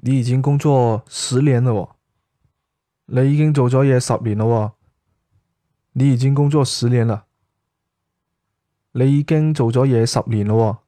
你已經工作10年了喎，你已經做咗嘢10年了喎，你已經工作10年啦，你已經做咗嘢10年了喎。